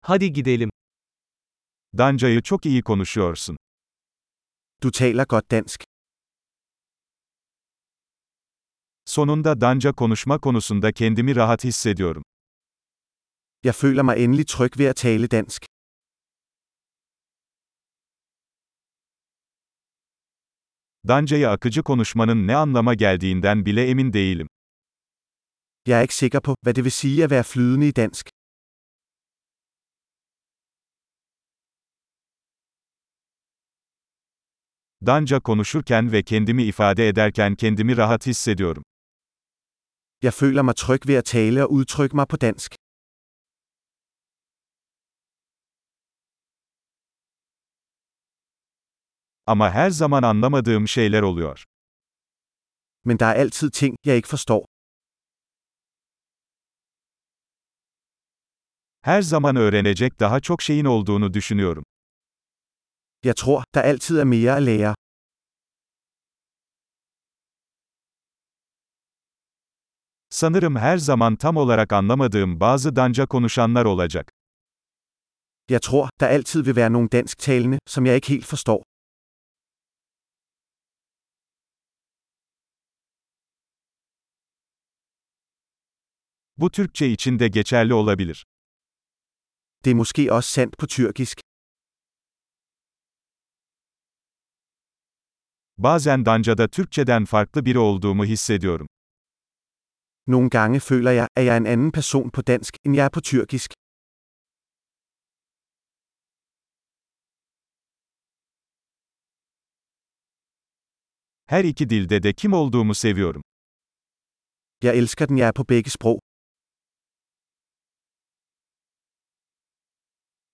Hadi gidelim. Dancayı çok iyi konuşuyorsun. Du taler godt dansk. Sonunda Danca konuşma konusunda kendimi rahat hissediyorum. Jeg føler mig endelig tryg ved at tale dansk. Dancayı akıcı konuşmanın ne anlama geldiğinden bile emin değilim. Jeg er ikke sikker på, hvad det vil sige at være flydende i dansk. Danca konuşurken ve kendimi ifade ederken kendimi rahat hissediyorum. Jeg føler mig tryg ved at tale og udtrykke mig på dansk. Ama her zaman anlamadığım şeyler oluyor. Men der er altid ting, jeg ikke forstår. Her zaman öğrenecek daha çok şeyin olduğunu düşünüyorum. Jeg tror, der altid er mere at lære. Sanırım her zaman tam olarak anlamadığım bazı Danca konuşanlar olacak. Jeg tror, der altid vil være nogle dansktalende, som jeg ikke helt forstår. Bu Türkçe için de geçerli olabilir. Det er måske også sandt på tyrkisk. Bazen Danca'da Türkçeden farklı biri olduğumu hissediyorum. Nogle gange føler jeg, at jeg er en anden person på dansk, end jeg er på tyrkisk. Her iki dilde de kim olduğumu seviyorum. Jeg elsker den, jeg er på begge sprog.